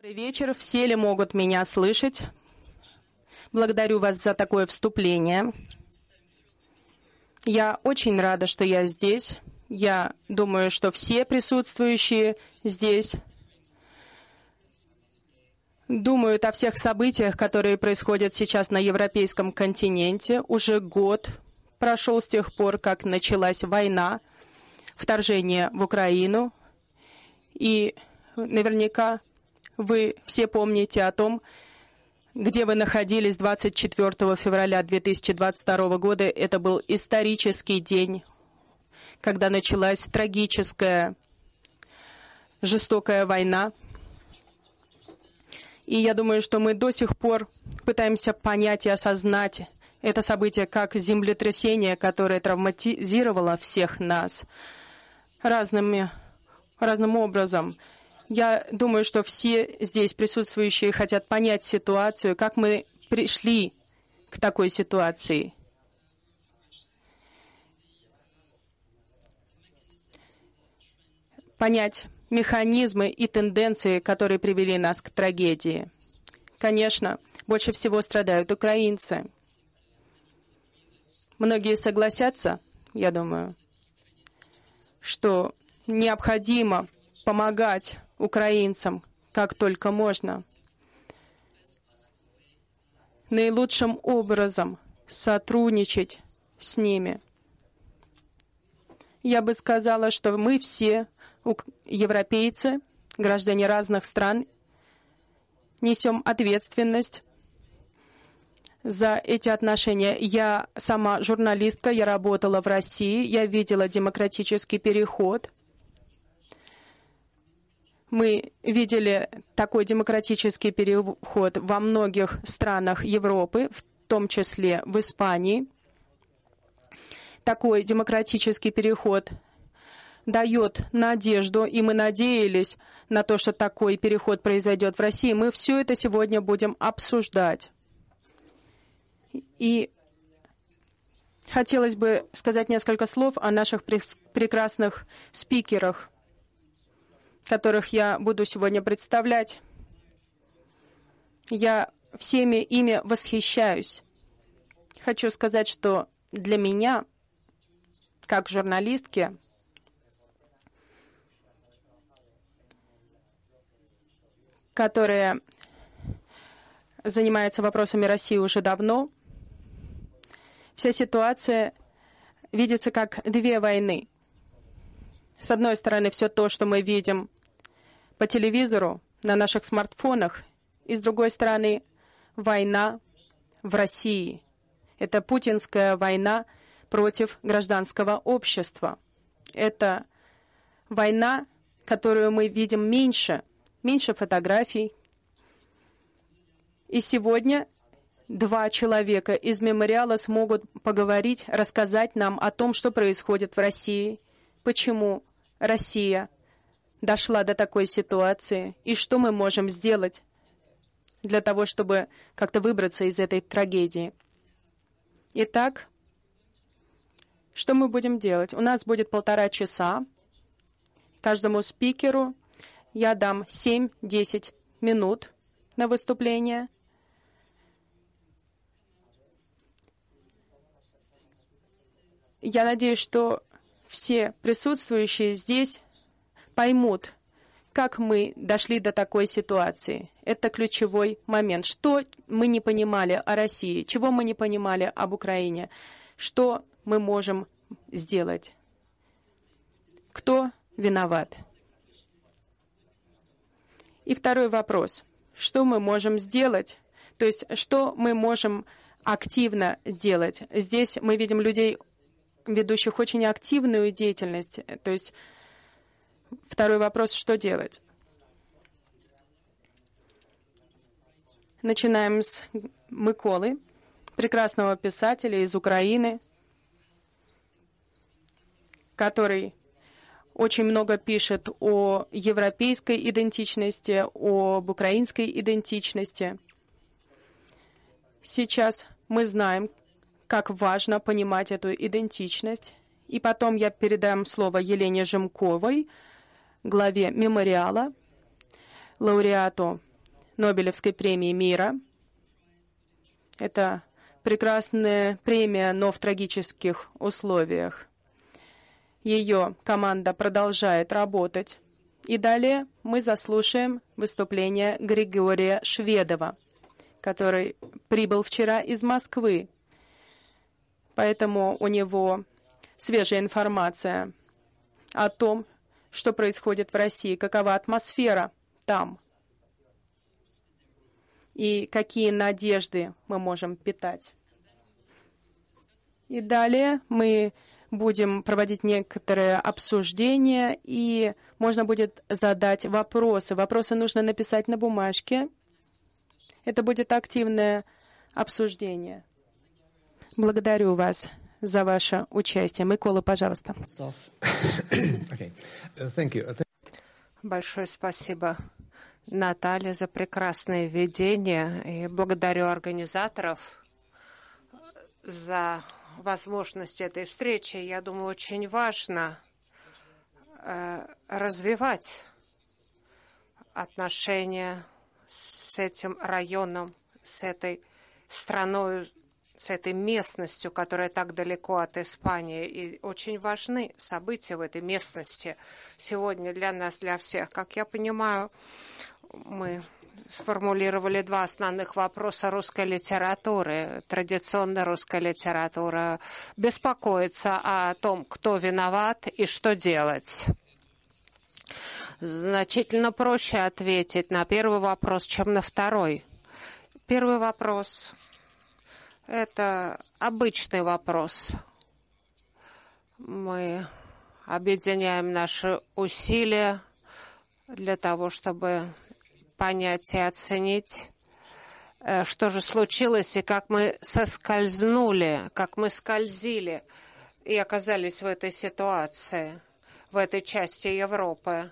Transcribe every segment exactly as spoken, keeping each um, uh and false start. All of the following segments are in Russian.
Добрый вечер. Все ли могут меня слышать? Благодарю вас за такое вступление. Я очень рада, что я здесь. Я думаю, что все присутствующие здесь думают о всех событиях, которые происходят сейчас на европейском континенте. Уже год прошел с тех пор, как началась война, вторжение в Украину. И наверняка вы все помните о том, где вы находились двадцать четвёртого февраля две тысячи двадцать второго года. Это был исторический день, когда началась трагическая, жестокая война. И я думаю, что мы до сих пор пытаемся понять и осознать это событие как землетрясение, которое травматизировало всех нас разными, разным образом. Я думаю, что все здесь присутствующие хотят понять ситуацию, как мы пришли к такой ситуации. Понять механизмы и тенденции, которые привели нас к трагедии. Конечно, больше всего страдают украинцы. Многие согласятся, я думаю, что необходимо помогать украинцам как только можно. Наилучшим образом сотрудничать с ними. Я бы сказала, что мы все, европейцы, граждане разных стран, несем ответственность за эти отношения. Я сама журналистка, я работала в России, я видела демократический переход. Мы видели такой демократический переход во многих странах Европы, в том числе в Испании. Такой демократический переход дает надежду, и мы надеялись на то, что такой переход произойдет в России. Мы все это сегодня будем обсуждать. И хотелось бы сказать несколько слов о наших прекрасных спикерах, которых я буду сегодня представлять. Я всеми ими восхищаюсь. Хочу сказать, что для меня, как журналистки, которая занимается вопросами России уже давно, вся ситуация видится как две войны. С одной стороны, все то, что мы видим по телевизору, на наших смартфонах, и с другой стороны, война в России. Это путинская война против гражданского общества. Это война, которую мы видим меньше, меньше фотографий. И сегодня два человека из мемориала смогут поговорить, рассказать нам о том, что происходит в России, почему Россия дошла до такой ситуации и что мы можем сделать для того, чтобы как-то выбраться из этой трагедии. Итак, что мы будем делать? У нас будет полтора часа. Каждому спикеру я дам семь-десять минут на выступление. Я надеюсь, что все присутствующие здесь поймут, как мы дошли до такой ситуации. Это ключевой момент. Что мы не понимали о России, чего мы не понимали об Украине, что мы можем сделать. Кто виноват? И второй вопрос. Что мы можем сделать? То есть, что мы можем активно делать? Здесь мы видим людей, ведущих очень активную деятельность. То есть, второй вопрос, что делать? Начинаем с Миколы, прекрасного писателя из Украины, который очень много пишет о европейской идентичности, об украинской идентичности. Сейчас мы знаем, как важно понимать эту идентичность. И потом я передам слово Елене Жемковой, главе мемориала, лауреату Нобелевской премии мира. Это прекрасная премия, но в трагических условиях. Ее команда продолжает работать. И далее мы заслушаем выступление Григория Шведова, который прибыл вчера из Москвы. Поэтому у него свежая информация о том, что происходит в России, какова атмосфера там и какие надежды мы можем питать. И далее мы будем проводить некоторые обсуждения, и можно будет задать вопросы. Вопросы нужно написать на бумажке. Это будет активное обсуждение. Благодарю вас за ваше участие. Микола, пожалуйста. Большое спасибо, Наталья, за прекрасное введение. И благодарю организаторов за возможность этой встречи. Я думаю, очень важно э, развивать отношения с этим районом, с этой страной, с этой местностью, которая так далеко от Испании. И очень важны события в этой местности сегодня для нас, для всех. Как я понимаю, мы сформулировали два основных вопроса русской литературы. Традиционная русская литература беспокоится о том, кто виноват и что делать. Значительно проще ответить на первый вопрос, чем на второй. Первый вопрос – это обычный вопрос. Мы объединяем наши усилия для того, чтобы понять и оценить, что же случилось и как мы соскользнули, как мы скользили и оказались в этой ситуации, в этой части Европы.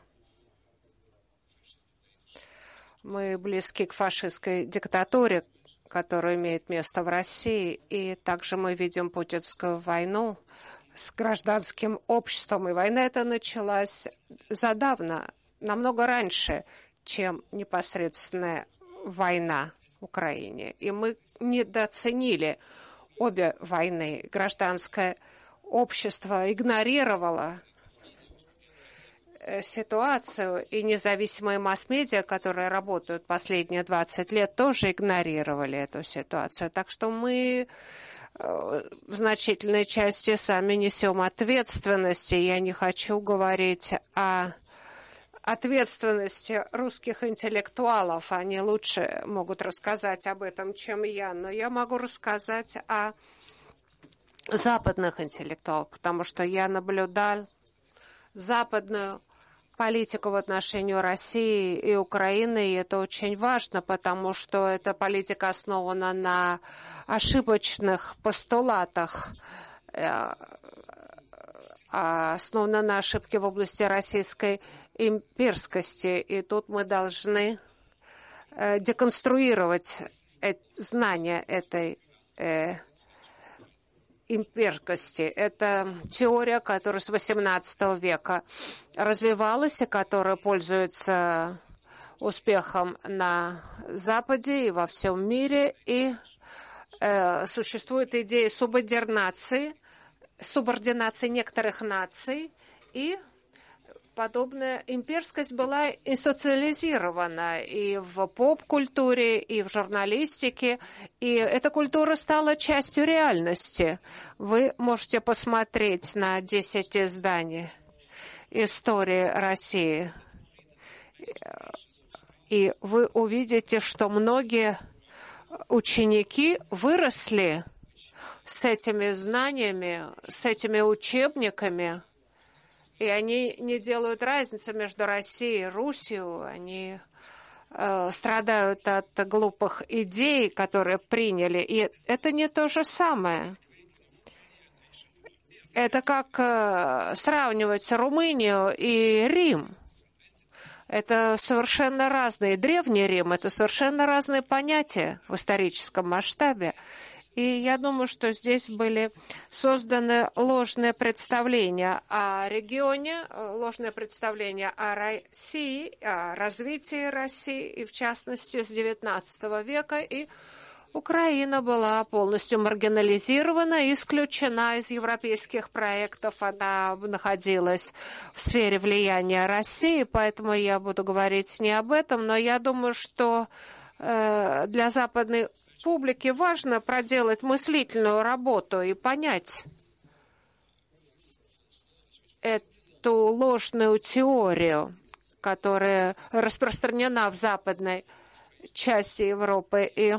Мы близки к фашистской диктатуре, которая имеет место в России, и также мы видим путинскую войну с гражданским обществом. И война эта началась задавно, намного раньше, чем непосредственная война в Украине. И мы недооценили обе войны. Гражданское общество игнорировало ситуацию, и независимые масс-медиа, которые работают последние двадцать лет, тоже игнорировали эту ситуацию. Так что мы в значительной части сами несем ответственность. И я не хочу говорить о ответственности русских интеллектуалов. Они лучше могут рассказать об этом, чем я. Но я могу рассказать о западных интеллектуалах, потому что я наблюдал западную политику в отношении России и Украины, и это очень важно, потому что эта политика основана на ошибочных постулатах, основана на ошибке в области российской имперскости. И тут мы должны деконструировать знания этой имперскости. Это теория, которая с восемнадцатого века развивалась и которая пользуется успехом на Западе и во всем мире. И э, существует идея субординации, субординации некоторых наций, и подобная имперскость была институциализирована и в поп-культуре, и в журналистике, и эта культура стала частью реальности. Вы можете посмотреть на десять изданий истории России, и вы увидите, что многие ученики выросли с этими знаниями, с этими учебниками, и они не делают разницы между Россией и Русью. Они э, страдают от глупых идей, которые приняли. И это не то же самое. Это как э, сравнивать Румынию и Рим. Это совершенно разные. Древний Рим – это совершенно разные понятия в историческом масштабе. И я думаю, что здесь были созданы ложные представления о регионе, ложные представления о России, о развитии России, и в частности с девятнадцатого века. И Украина была полностью маргинализирована, исключена из европейских проектов. Она находилась в сфере влияния России, поэтому я буду говорить не об этом, но я думаю, что э, для западной публике важно проделать мыслительную работу и понять эту ложную теорию, которая распространена в западной части Европы. И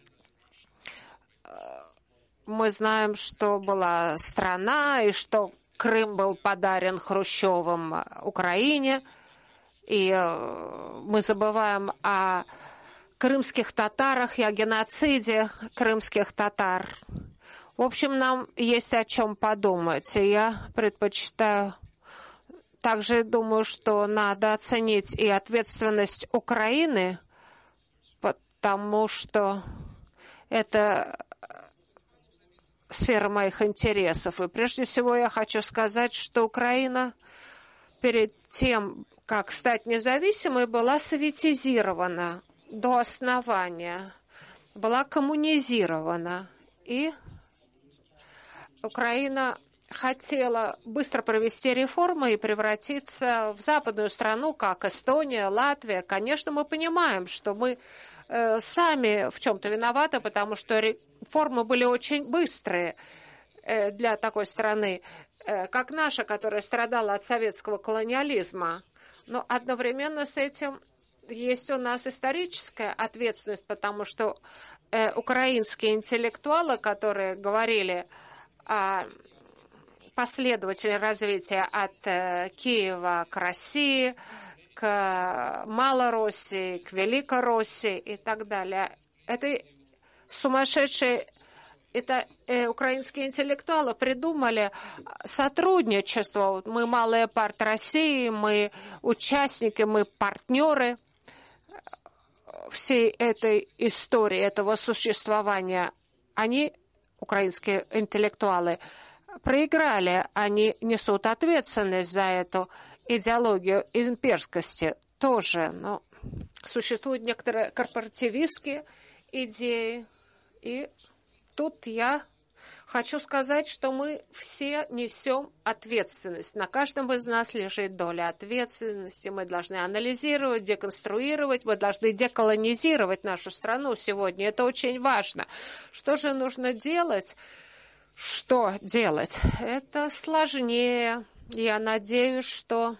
мы знаем, что была страна, и что Крым был подарен Хрущевым Украине, и мы забываем о крымских татарах и о геноциде крымских татар. В общем, нам есть о чем подумать. И я предпочитаю, также думаю, что надо оценить и ответственность Украины, потому что это сфера моих интересов. И прежде всего я хочу сказать, что Украина перед тем, как стать независимой, была советизирована до основания, была коммунизирована. И Украина хотела быстро провести реформы и превратиться в западную страну, как Эстония, Латвия. Конечно, мы понимаем, что мы э, сами в чем-то виноваты, потому что реформы были очень быстрые э, для такой страны, э, как наша, которая страдала от советского колониализма. Но одновременно с этим есть у нас историческая ответственность, потому что э, украинские интеллектуалы, которые говорили о последовательное развитие от э, Киева к России, к Малороссии, к Великороссии и так далее. Это сумасшедшие, это э, украинские интеллектуалы придумали сотрудничество. Мы малая парт России, мы участники, мы партнеры всей этой истории, этого существования. Они, украинские интеллектуалы, проиграли, они несут ответственность за эту идеологию имперскости тоже. Но существуют некоторые корпоративистские идеи. И тут я хочу сказать, что мы все несем ответственность. На каждом из нас лежит доля ответственности. Мы должны анализировать, деконструировать, мы должны деколонизировать нашу страну сегодня. Это очень важно. Что же нужно делать? Что делать? Это сложнее. Я надеюсь, что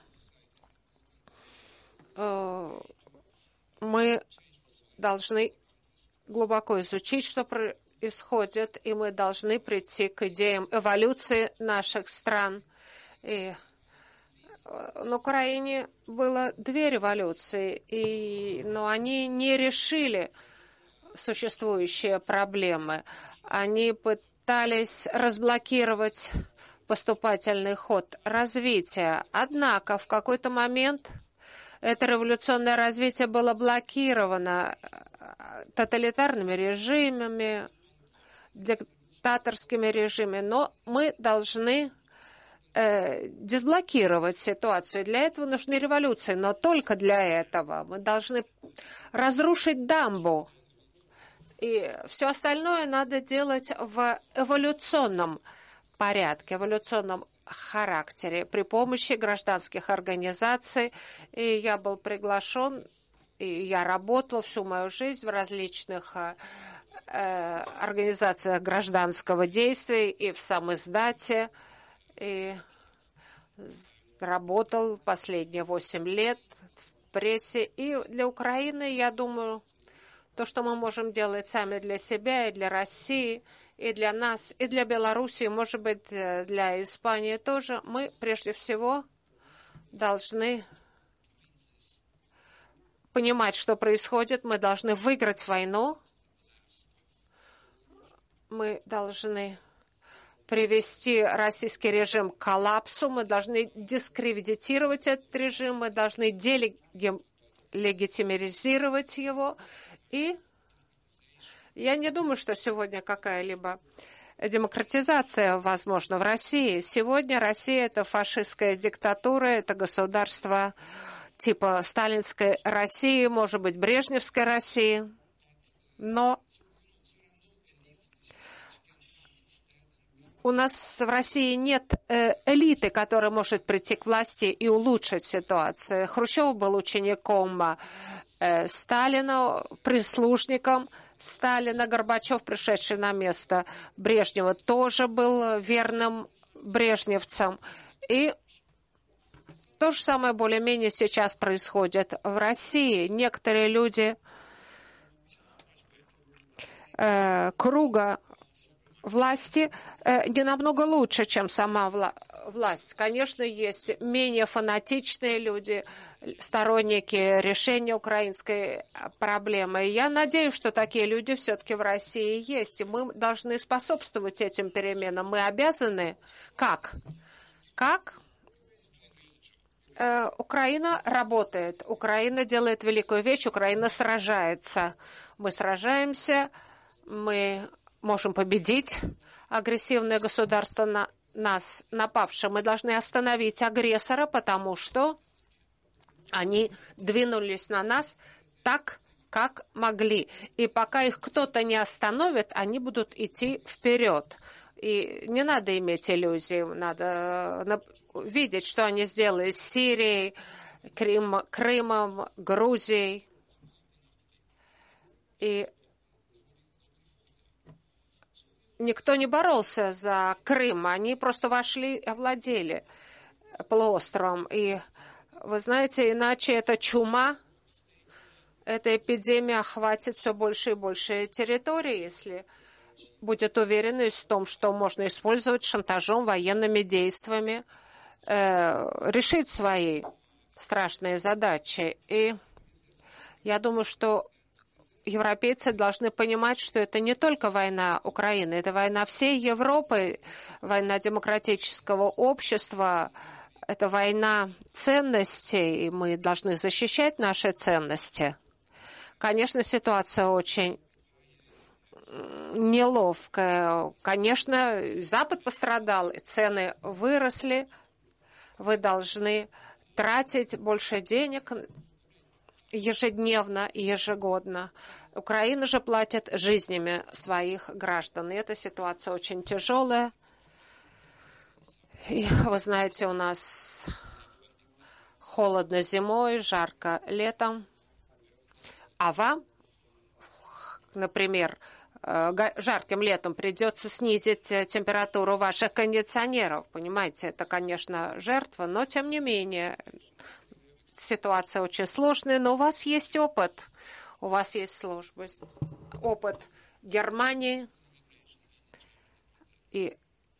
э, мы должны глубоко изучить, что происходит, и мы должны прийти к идеям эволюции наших стран. И на Украине было две революции, и, но они не решили существующие проблемы. Они пытались пытались разблокировать поступательный ход развития. Однако в какой-то момент это революционное развитие было блокировано тоталитарными режимами, диктаторскими режимами. Но мы должны э, дезблокировать ситуацию. Для этого нужны революции, но только для этого. Мы должны разрушить дамбу. И все остальное надо делать в эволюционном порядке, эволюционном характере, при помощи гражданских организаций. И я был приглашен, и я работал всю мою жизнь в различных э, организациях гражданского действия и в самиздате. И работал последние восемь лет в прессе. И для Украины, я думаю, то, что мы можем делать сами для себя и для России, и для нас, и для Белоруссии, может быть, для Испании тоже, мы прежде всего должны понимать, что происходит. Мы должны выиграть войну. Мы должны привести российский режим к коллапсу. Мы должны дискредитировать этот режим. Мы должны делегитимизировать его. И Я не думаю, что сегодня какая-либо демократизация возможна в России. Сегодня Россия – это фашистская диктатура, это государство типа сталинской России, может быть, брежневской России. Но у нас в России нет э, элиты, которая может прийти к власти и улучшить ситуацию. Хрущев был учеником э, Сталина, прислужником Сталина. Горбачев, пришедший на место Брежнева, тоже был верным брежневцем. И то же самое более-менее сейчас происходит в России. Некоторые люди э, круга власти э, не намного лучше, чем сама вла власть. Конечно, есть менее фанатичные люди, сторонники решения украинской проблемы. И я надеюсь, что такие люди все-таки в России есть. И мы должны способствовать этим переменам. Мы обязаны. Как? Как? Э, Украина работает. Украина делает великую вещь. Украина сражается. Мы сражаемся. Мы можем победить агрессивное государство на нас, напавшее. Мы должны остановить агрессора, потому что они двинулись на нас так, как могли. И пока их кто-то не остановит, они будут идти вперед. И не надо иметь иллюзий, надо видеть, что они сделали с Сирией, Крым, Крымом, Грузией. И никто не боролся за Крым, они просто вошли и овладели полуостровом. И вы знаете, иначе эта чума, эта эпидемия охватит все больше и больше территорий, если будет уверенность в том, что можно использовать шантажом, военными действиями, э, решить свои страшные задачи. И я думаю, что европейцы должны понимать, что это не только война Украины, это война всей Европы, война демократического общества, это война ценностей, и мы должны защищать наши ценности. Конечно, ситуация очень неловкая. Конечно, Запад пострадал, цены выросли. Вы должны тратить больше денег ежедневно и ежегодно. Украина же платит жизнями своих граждан. И эта ситуация очень тяжелая. И вы знаете, у нас холодно зимой, жарко летом. А вам, например, жарким летом придется снизить температуру ваших кондиционеров. Понимаете, это, конечно, жертва, но тем не менее ситуация очень сложная, но у вас есть опыт. У вас есть служба, опыт Германии. И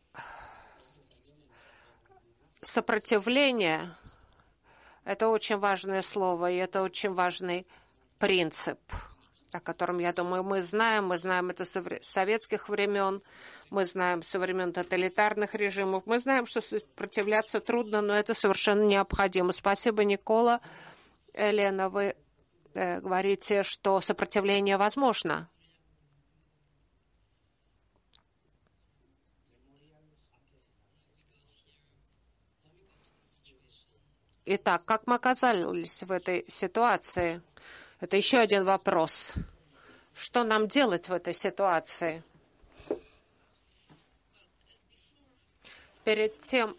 сопротивление – это очень важное слово, и это очень важный принцип, о котором, я думаю, мы знаем. Мы знаем это с советских времен, мы знаем со времен тоталитарных режимов. Мы знаем, что сопротивляться трудно, но это совершенно необходимо. Спасибо, Никола. Елена, вы э, говорите, что сопротивление возможно. Итак, как мы оказались в этой ситуации? Это еще один вопрос. Что нам делать в этой ситуации? Перед тем...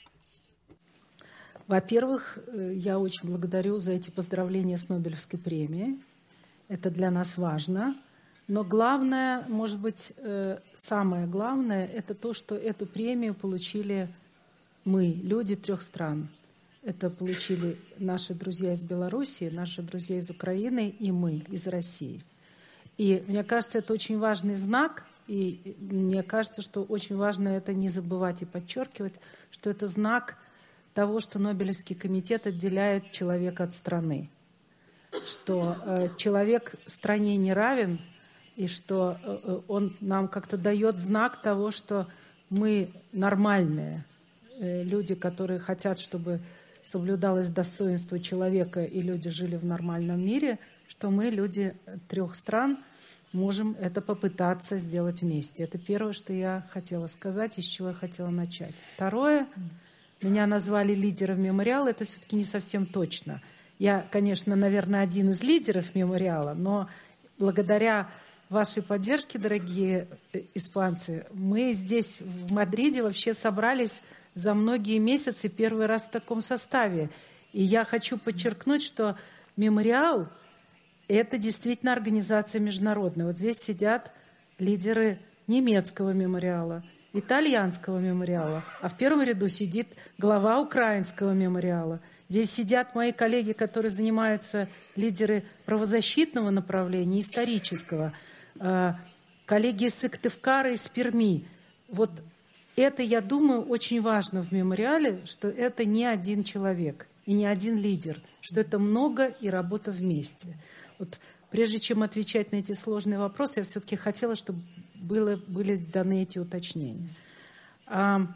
Во-первых, я очень благодарю за эти поздравления с Нобелевской премией. Это для нас важно. Но главное, может быть, самое главное, это то, что эту премию получили мы, люди трех стран. Это получили наши друзья из Белоруссии, наши друзья из Украины и мы из России. И мне кажется, это очень важный знак, и мне кажется, что очень важно это не забывать и подчеркивать, что это знак того, что Нобелевский комитет отделяет человека от страны, что э, человек стране не равен, и что э, он нам как-то дает знак того, что мы нормальные э, люди, которые хотят, чтобы соблюдалось достоинство человека, и люди жили в нормальном мире, что мы, люди трех стран, можем это попытаться сделать вместе. Это первое, что я хотела сказать, и с чего я хотела начать. Второе, меня назвали лидером мемориала, это все-таки не совсем точно. Я, конечно, наверное, один из лидеров мемориала, но благодаря вашей поддержке, дорогие испанцы, мы здесь, в Мадриде, вообще собрались за многие месяцы первый раз в таком составе. И я хочу подчеркнуть, что мемориал — это действительно организация международная. Вот здесь сидят лидеры немецкого мемориала, итальянского мемориала, а в первом ряду сидит глава украинского мемориала. Здесь сидят мои коллеги, которые занимаются, лидеры правозащитного направления, исторического, коллеги из Сыктывкара, из Перми. Вот это, я думаю, очень важно в мемориале, что это не один человек и не один лидер, что это много и работа вместе. Вот прежде чем отвечать на эти сложные вопросы, я все-таки хотела, чтобы было, были даны эти уточнения. А,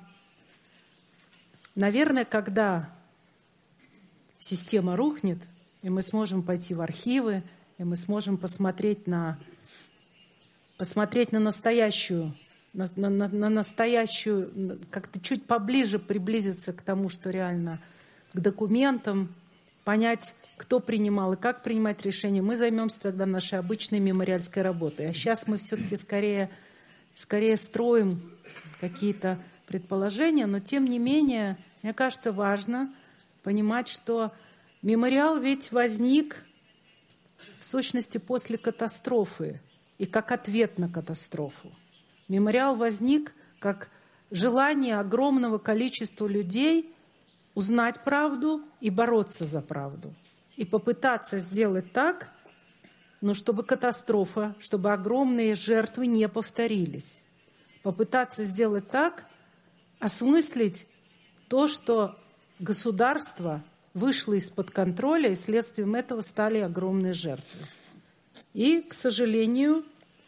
наверное, когда система рухнет, и мы сможем пойти в архивы, и мы сможем посмотреть на, посмотреть на настоящую, на, на, на настоящую, как-то чуть поближе приблизиться к тому, что реально, к документам, понять, кто принимал и как принимать решения, мы займемся тогда нашей обычной мемориальской работой. А сейчас мы все-таки скорее, скорее строим какие-то предположения, но тем не менее, мне кажется, важно понимать, что мемориал ведь возник в сущности после катастрофы и как ответ на катастрофу. Мемориал возник как желание огромного количества людей узнать правду и бороться за правду. И попытаться сделать так, ну, чтобы катастрофа, чтобы огромные жертвы не повторились. Попытаться сделать так, осмыслить то, что государство вышло из-под контроля, и следствием этого стали огромные жертвы. И, к сожалению,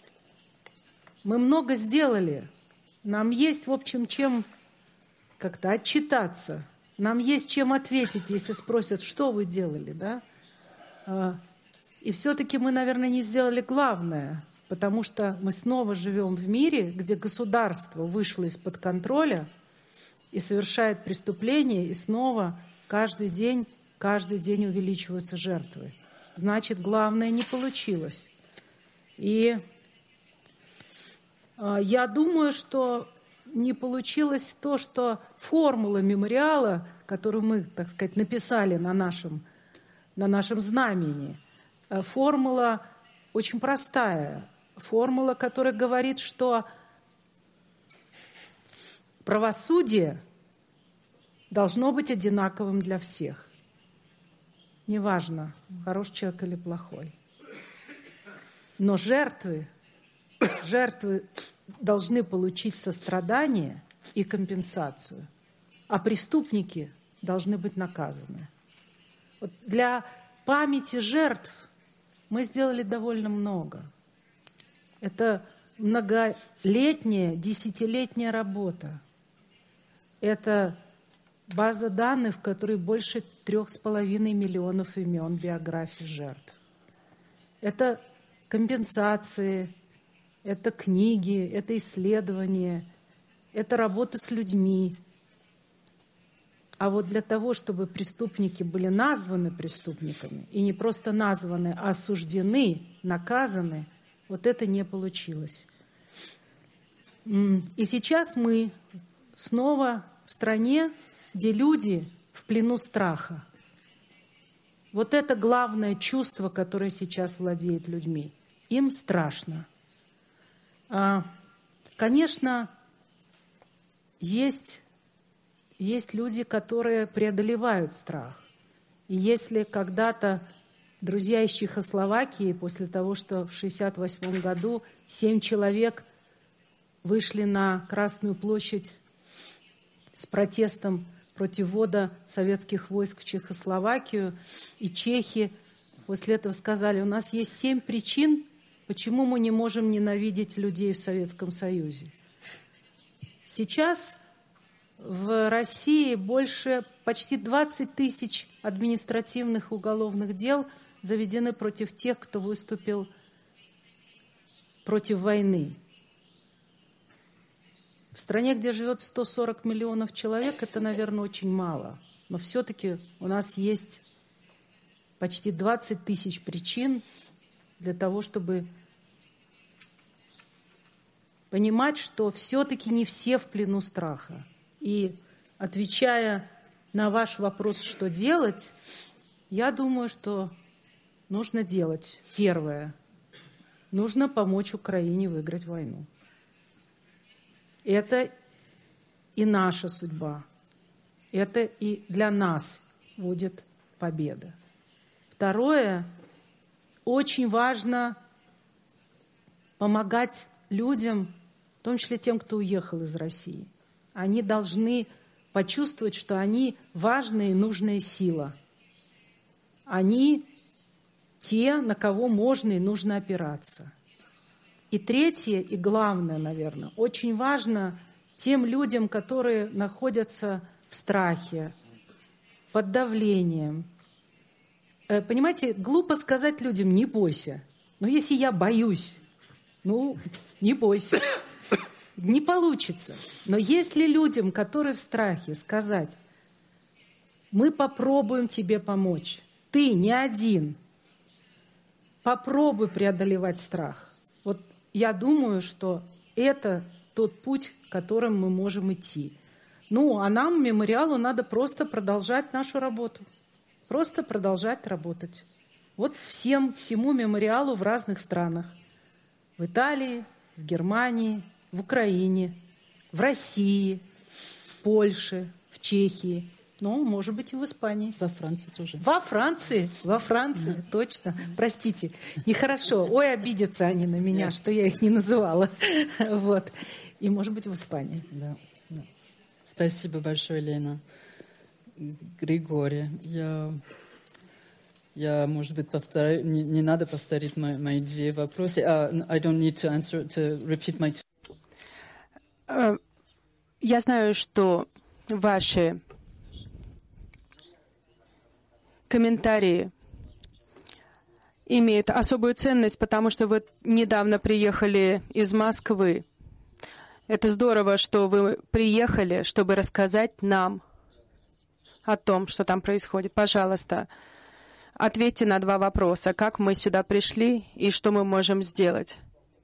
мы много сделали. Нам есть, в общем, чем как-то отчитаться. Нам есть чем ответить, если спросят, что вы делали, да? И все-таки мы, наверное, не сделали главное, потому что мы снова живем в мире, где государство вышло из-под контроля и совершает преступления, и снова каждый день, каждый день увеличиваются жертвы. Значит, главное не получилось. И я думаю, что не получилось то, что формула мемориала, которую мы, так сказать, написали на нашем, на нашем знамени, формула очень простая. Формула, которая говорит, что правосудие должно быть одинаковым для всех. Неважно, хороший человек или плохой. Но жертвы, жертвы должны получить сострадание и компенсацию, а преступники должны быть наказаны. Вот для памяти жертв мы сделали довольно много. Это многолетняя, десятилетняя работа. Это база данных, в которой больше трех с половиной миллионов имен биографий жертв. Это компенсации, это книги, это исследования, это работа с людьми. А вот для того, чтобы преступники были названы преступниками, и не просто названы, а осуждены, наказаны, вот это не получилось. И сейчас мы снова в стране, где люди в плену страха. Вот это главное чувство, которое сейчас владеет людьми. Им страшно. Конечно, есть, есть люди, которые преодолевают страх. И если когда-то друзья из Чехословакии, после того, что в шестьдесят восьмом году семь человек вышли на Красную площадь с протестом против ввода советских войск в Чехословакию, и чехи после этого сказали, у нас есть семь причин, почему мы не можем ненавидеть людей в Советском Союзе. Сейчас в России больше почти двадцать тысяч административных уголовных дел заведены против тех, кто выступил против войны. В стране, где живет сто сорок миллионов человек, это, наверное, очень мало. Но все-таки у нас есть почти двадцать тысяч причин для того, чтобы понимать, что все-таки не все в плену страха. И отвечая на ваш вопрос, что делать, я думаю, что нужно делать первое. Нужно помочь Украине выиграть войну. Это и наша судьба. Это и для нас будет победа. Второе, очень важно помогать людям, в том числе тем, кто уехал из России. Они должны почувствовать, что они важная и нужная сила. Они те, на кого можно и нужно опираться. И третье, и главное, наверное, очень важно тем людям, которые находятся в страхе, под давлением. Понимаете, глупо сказать людям: не бойся. Но если я боюсь, ну, не бойся. Не получится. Но если людям, которые в страхе, сказать: мы попробуем тебе помочь, ты не один, попробуй преодолевать страх. Вот я думаю, что это тот путь, которым мы можем идти. Ну, а нам, мемориалу, надо просто продолжать нашу работу. Просто продолжать работать. Вот всем, всему мемориалу в разных странах. В Италии, в Германии, в Украине, в России, в Польше, в Чехии. Ну, может быть, и в Испании. Во Франции тоже. Во Франции, во Франции, да. Точно. Простите, нехорошо. Ой, обидятся они на меня, да. Что я их не называла. Вот. И, может быть, в Испании. Да. Да. Спасибо большое, Лена. Григорий, я, я может быть, повторю, не, не надо повторить мои, мои две вопросы. Uh, I don't need to answer, to repeat my... Uh, я знаю, что ваши комментарии имеют особую ценность, потому что вы недавно приехали из Москвы. Это здорово, что вы приехали, чтобы рассказать нам о том, что там происходит. Пожалуйста, ответьте на два вопроса. Как мы сюда пришли и что мы можем сделать?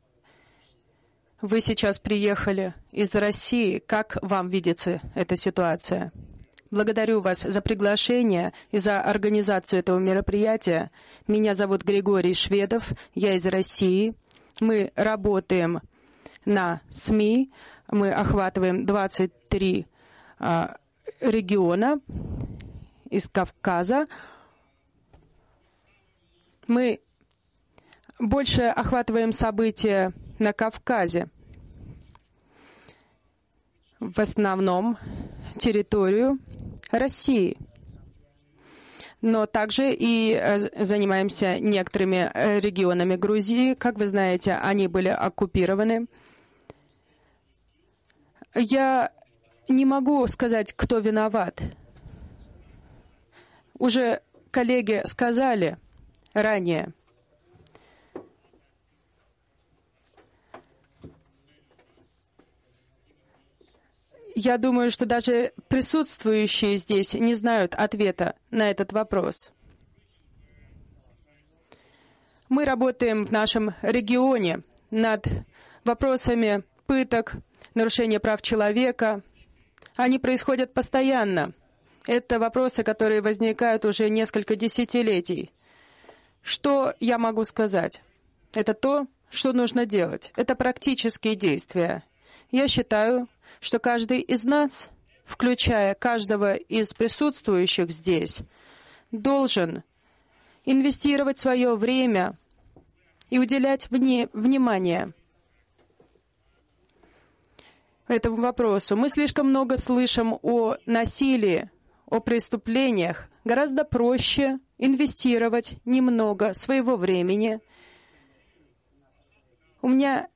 Вы сейчас приехали из России. Как вам видится эта ситуация? Благодарю вас за приглашение и за организацию этого мероприятия. Меня зовут Григорий Шведов, я из России. Мы работаем на СМИ, мы охватываем двадцать три а, региона из Кавказа. Мы больше охватываем события на Кавказе, в основном территорию России. Но также и занимаемся некоторыми регионами Грузии. Как вы знаете, они были оккупированы. Я не могу сказать, кто виноват. Уже коллеги сказали ранее. Я думаю, что даже присутствующие здесь не знают ответа на этот вопрос. Мы работаем в нашем регионе над вопросами пыток, нарушения прав человека. Они происходят постоянно. Это вопросы, которые возникают уже несколько десятилетий. Что я могу сказать? Это то, что нужно делать. Это практические действия. Я считаю, что каждый из нас, включая каждого из присутствующих здесь, должен инвестировать свое время и уделять вне, внимание этому вопросу. Мы слишком много слышим о насилии, о преступлениях. Гораздо проще инвестировать немного своего времени. У меня...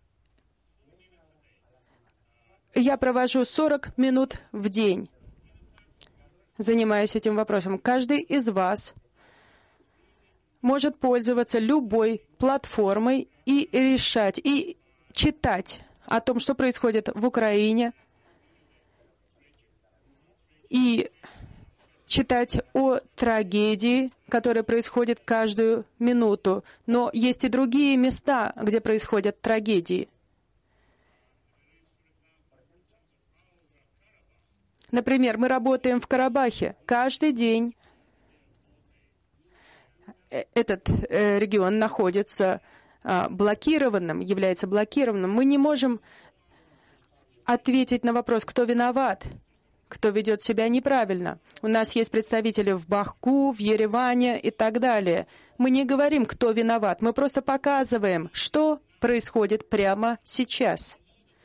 Я провожу сорок минут в день, занимаясь этим вопросом. Каждый из вас может пользоваться любой платформой и решать, и читать о том, что происходит в Украине, и читать о трагедии, которая происходит каждую минуту. Но есть и другие места, где происходят трагедии. Например, мы работаем в Карабахе каждый день. Этот э, регион находится э, блокированным, является блокированным. Мы не можем ответить на вопрос, кто виноват, кто ведет себя неправильно. У нас есть представители в Баку, в Ереване и так далее. Мы не говорим, кто виноват, мы просто показываем, что происходит прямо сейчас.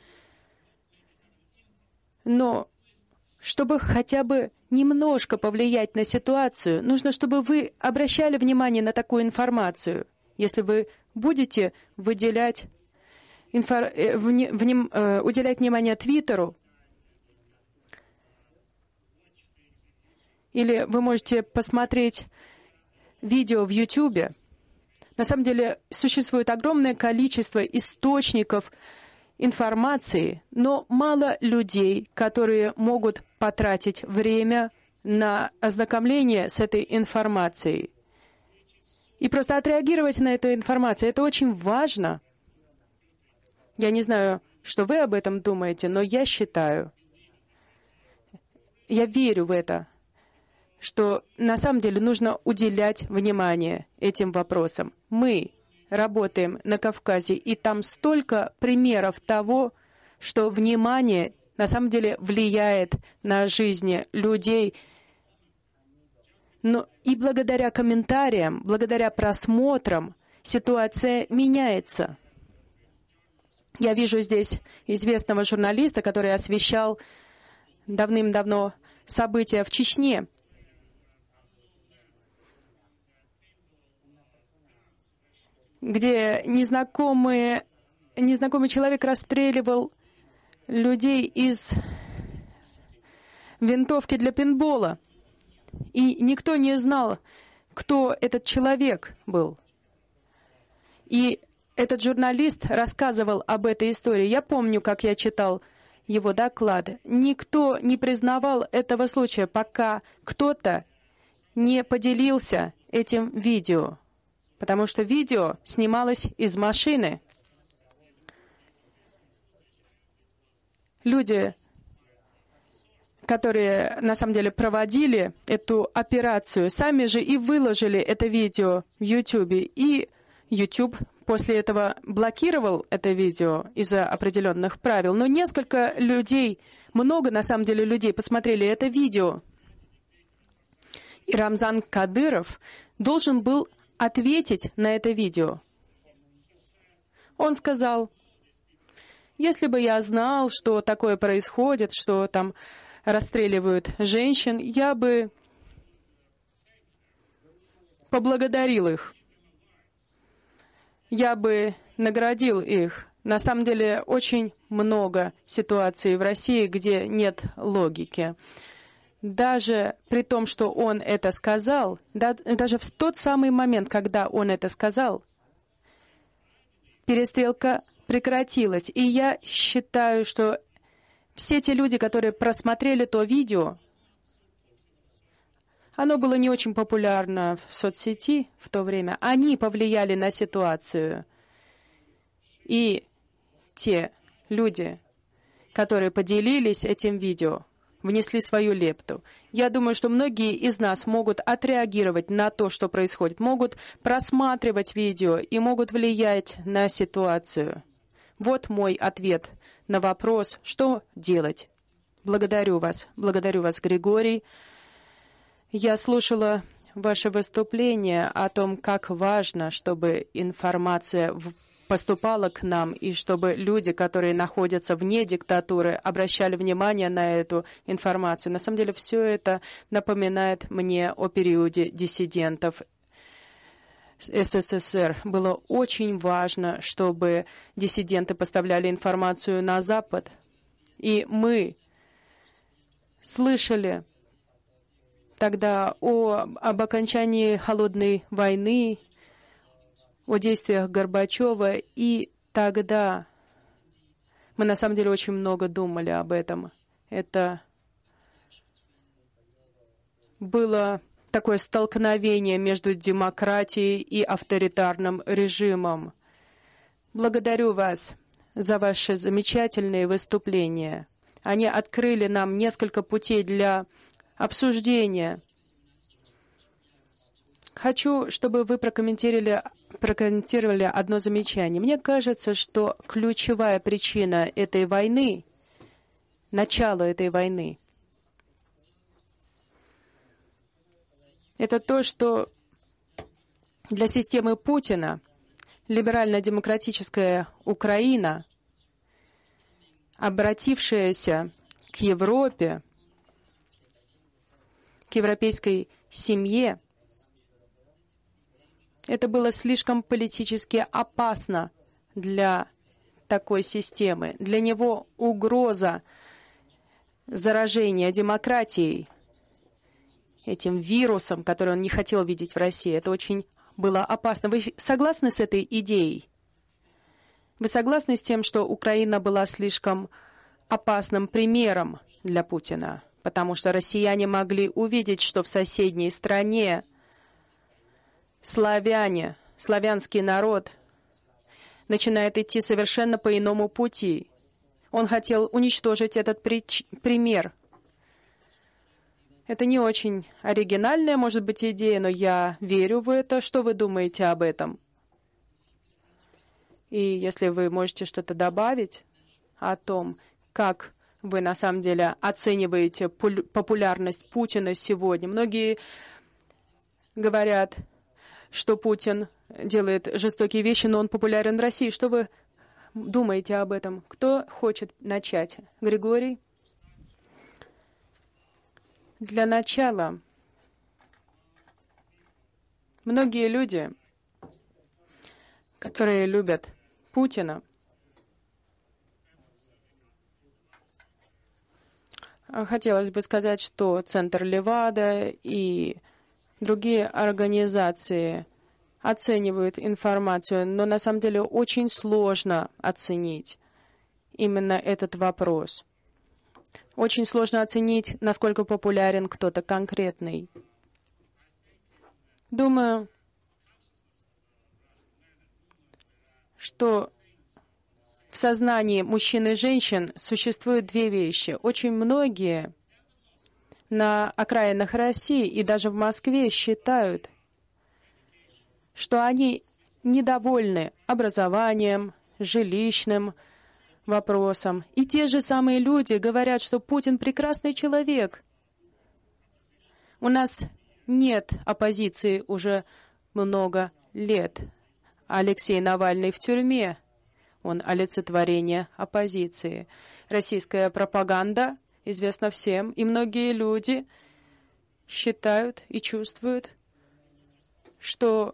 Но чтобы хотя бы немножко повлиять на ситуацию, нужно, чтобы вы обращали внимание на такую информацию. Если вы будете выделять, инфор... вне... Вним... уделять внимание Твиттеру, или вы можете посмотреть видео в Ютубе, на самом деле существует огромное количество источников информации, но мало людей, которые могут потратить время на ознакомление с этой информацией. И просто отреагировать на эту информацию. Это очень важно. Я не знаю, что вы об этом думаете, но я считаю, я верю в это, что на самом деле нужно уделять внимание этим вопросам. Мы работаем на Кавказе, и там столько примеров того, что внимание на самом деле влияет на жизни людей. Но и благодаря комментариям, благодаря просмотрам ситуация меняется. Я вижу здесь известного журналиста, который освещал давным-давно события в Чечне. Где незнакомые, незнакомый человек расстреливал людей из винтовки для пейнтбола. И никто не знал, кто этот человек был. И этот журналист рассказывал об этой истории. Я помню, как я читал его доклад. Никто не признавал этого случая, пока кто-то не поделился этим видео. Потому что видео снималось из машины. Люди, которые на самом деле проводили эту операцию, сами же и выложили это видео в YouTube. И YouTube после этого блокировал это видео из-за определенных правил. Но несколько людей, много на самом деле людей посмотрели это видео. И Рамзан Кадыров должен был ответить на это видео. Он сказал: если бы я знал, что такое происходит, что там расстреливают женщин, я бы поблагодарил их. Я бы наградил их. На самом деле очень много ситуаций в России, где нет логики. Даже при том, что он это сказал, да, даже в тот самый момент, когда он это сказал, перестрелка прекратилась. И я считаю, что все те люди, которые просмотрели то видео, оно было не очень популярно в соцсети в то время, они повлияли на ситуацию. И те люди, которые поделились этим видео, внесли свою лепту. Я думаю, что многие из нас могут отреагировать на то, что происходит, могут просматривать видео и могут влиять на ситуацию. Вот мой ответ на вопрос, что делать. Благодарю вас. Благодарю вас, Григорий. Я слушала ваше выступление о том, как важно, чтобы информация в поступала к нам, и чтобы люди, которые находятся вне диктатуры, обращали внимание на эту информацию. На самом деле, все это напоминает мне о периоде диссидентов СССР. Было очень важно, чтобы диссиденты поставляли информацию на Запад. И мы слышали тогда о, об окончании холодной войны, о действиях Горбачева, и тогда мы на самом деле очень много думали об этом. Это было такое столкновение между демократией и авторитарным режимом. Благодарю вас за ваши замечательные выступления. Они открыли нам несколько путей для обсуждения. Хочу, чтобы вы прокомментировали, прокомментировали одно замечание. Мне кажется, что ключевая причина этой войны, начало этой войны, это то, что для системы Путина либерально-демократическая Украина, обратившаяся к Европе, к европейской семье, это было слишком политически опасно для такой системы. Для него угроза заражения демократией, этим вирусом, который он не хотел видеть в России, это очень было опасно. Вы согласны с этой идеей? Вы согласны с тем, что Украина была слишком опасным примером для Путина? Потому что россияне могли увидеть, что в соседней стране славяне, славянский народ начинает идти совершенно по иному пути. Он хотел уничтожить этот прич- пример. Это не очень оригинальная, может быть, идея, но я верю в это. Что вы думаете об этом? И если вы можете что-то добавить о том, как вы на самом деле оцениваете популярность Путина сегодня. Многие говорят, что Путин делает жестокие вещи, но он популярен в России. Что вы думаете об этом? Кто хочет начать? Григорий? Для начала, многие люди, которые любят Путина, хотелось бы сказать, что Центр Левада и другие организации оценивают информацию, но на самом деле очень сложно оценить именно этот вопрос. Очень сложно оценить, насколько популярен кто-то конкретный. Думаю, что в сознании мужчин и женщин существуют две вещи. Очень многие на окраинах России и даже в Москве считают, что они недовольны образованием, жилищным вопросом. И те же самые люди говорят, что Путин прекрасный человек. У нас нет оппозиции уже много лет. Алексей Навальный в тюрьме. Он олицетворение оппозиции. Российская пропаганда известна всем, и многие люди считают и чувствуют, что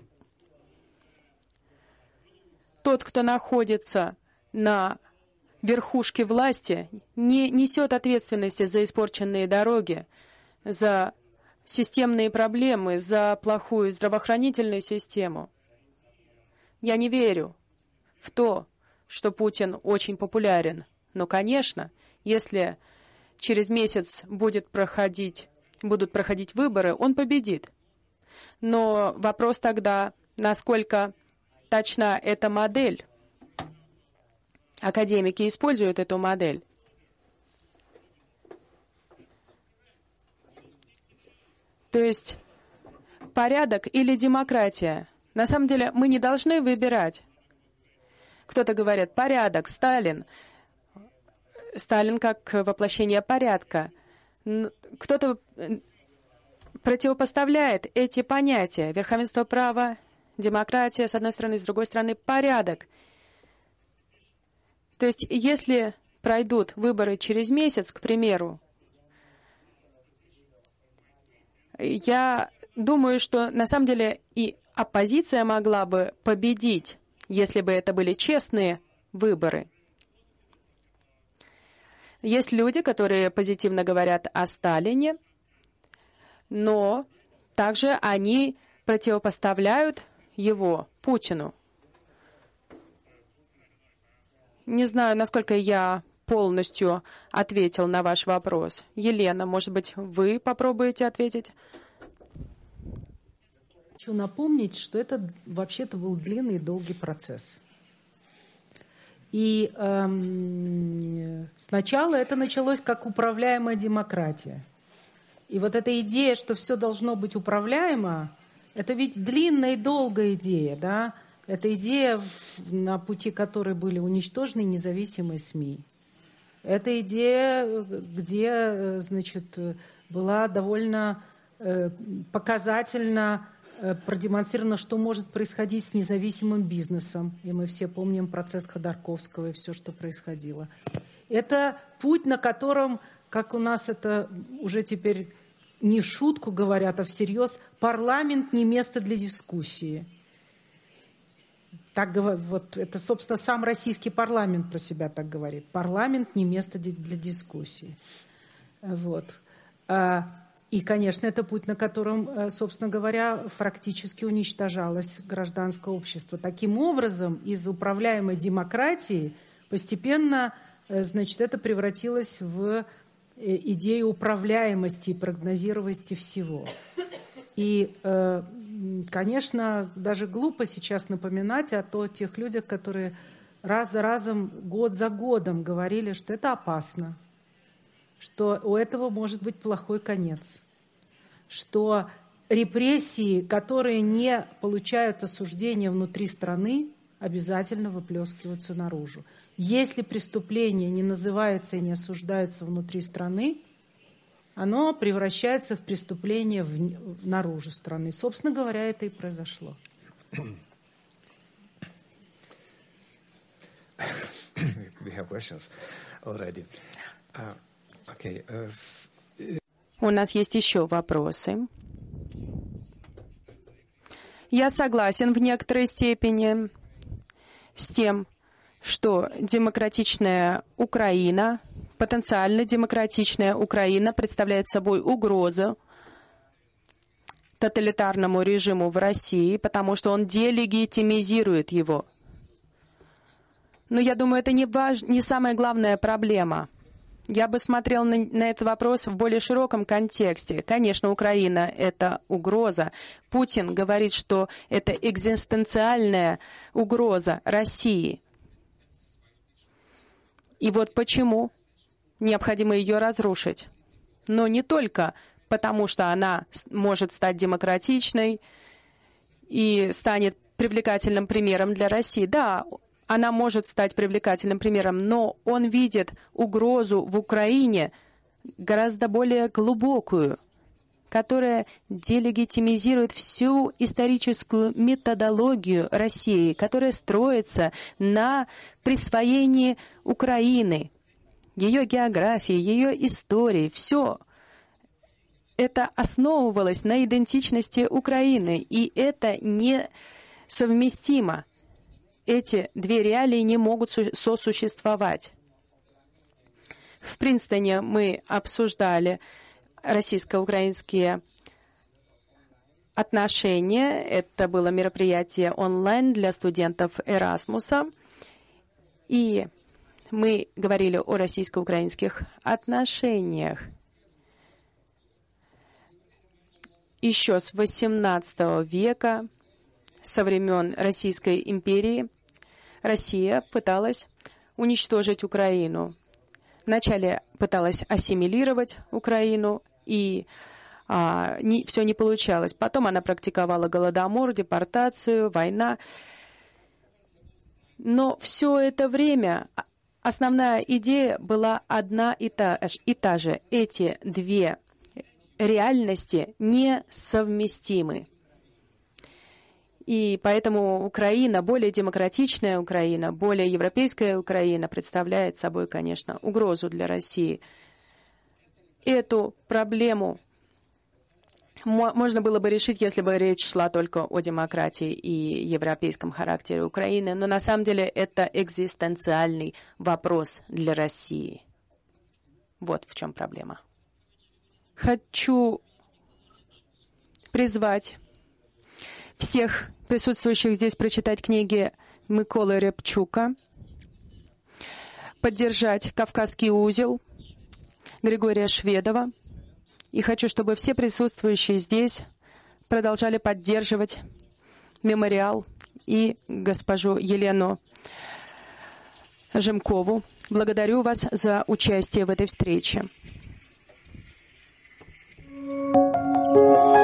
тот, кто находится на верхушке власти, не несет ответственности за испорченные дороги, за системные проблемы, за плохую здравоохранительную систему. Я не верю в то, что Путин очень популярен. Но, конечно, если через месяц будет проходить, будут проходить выборы, он победит. Но вопрос тогда, насколько точна эта модель. Академики используют эту модель. То есть порядок или демократия. На самом деле мы не должны выбирать. Кто-то говорит порядок, Сталин. Сталин как воплощение порядка. Кто-то противопоставляет эти понятия. Верховенство права, демократия, с одной стороны, с другой стороны, порядок. То есть, если пройдут выборы через месяц, к примеру, я думаю, что на самом деле и оппозиция могла бы победить, если бы это были честные выборы. Есть люди, которые позитивно говорят о Сталине, но также они противопоставляют его Путину. Не знаю, насколько я полностью ответил на ваш вопрос. Елена, может быть, вы попробуете ответить? Хочу напомнить, что это вообще-то был длинный и долгий процесс. И эм, сначала это началось как управляемая демократия. И вот эта идея, что все должно быть управляемо, это ведь длинная и долгая идея, да? Это идея, на пути которой были уничтожены независимые СМИ. Это идея, где, значит, была довольно показательно продемонстрировано, что может происходить с независимым бизнесом. И мы все помним процесс Ходорковского и все, что происходило. Это путь, на котором, как у нас это уже теперь не в шутку говорят, а всерьез, парламент не место для дискуссии. Так, вот, это, собственно, сам российский парламент про себя так говорит. Парламент не место для дискуссии. Вот. И, конечно, это путь, на котором, собственно говоря, фактически уничтожалось гражданское общество. Таким образом, из управляемой демократии постепенно, значит, это превратилось в идею управляемости и прогнозируемости всего. И, конечно, даже глупо сейчас напоминать о тех людях, которые раз за разом, год за годом говорили, что это опасно, что у этого может быть плохой конец, что репрессии, которые не получают осуждения внутри страны, обязательно выплескиваются наружу. Если преступление не называется и не осуждается внутри страны, оно превращается в преступление в, наружу страны. Собственно говоря, это и произошло. We have questions already. Uh, okay. Uh, У нас есть еще вопросы. Я согласен в некоторой степени с тем, что демократичная Украина, потенциально демократичная Украина представляет собой угрозу тоталитарному режиму в России, потому что он делегитимизирует его. Но я думаю, это не, важ... не самая главная проблема. Я бы смотрел на, на этот вопрос в более широком контексте. Конечно, Украина — это угроза. Путин говорит, что это экзистенциальная угроза России. И вот почему необходимо ее разрушить. Но не только потому, что она может стать демократичной и станет привлекательным примером для России. Да, она может стать привлекательным примером, но он видит угрозу в Украине гораздо более глубокую, которая делегитимизирует всю историческую методологию России, которая строится на присвоении Украины, ее географии, ее истории. Все это основывалось на идентичности Украины, и это несовместимо. Эти две реалии не могут сосуществовать. В Принстоне мы обсуждали российско-украинские отношения. Это было мероприятие онлайн для студентов Эрасмуса. И мы говорили о российско-украинских отношениях. Еще с восемнадцатого века, со времен Российской империи, Россия пыталась уничтожить Украину. Вначале пыталась ассимилировать Украину, и а, не, все не получалось. Потом она практиковала голодомор, депортацию, война. Но все это время основная идея была одна и та, и та же. Эти две реальности несовместимы. И поэтому Украина, более демократичная Украина, более европейская Украина представляет собой, конечно, угрозу для России. Эту проблему можно было бы решить, если бы речь шла только о демократии и европейском характере Украины, но на самом деле это экзистенциальный вопрос для России. Вот в чем проблема. Хочу призвать всех присутствующих здесь прочитать книги Миколы Рябчука. поддержать Кавказский узел Григория Шведова. И хочу, чтобы все присутствующие здесь продолжали поддерживать мемориал и госпожу Елену Жемкову. Благодарю вас за участие в этой встрече.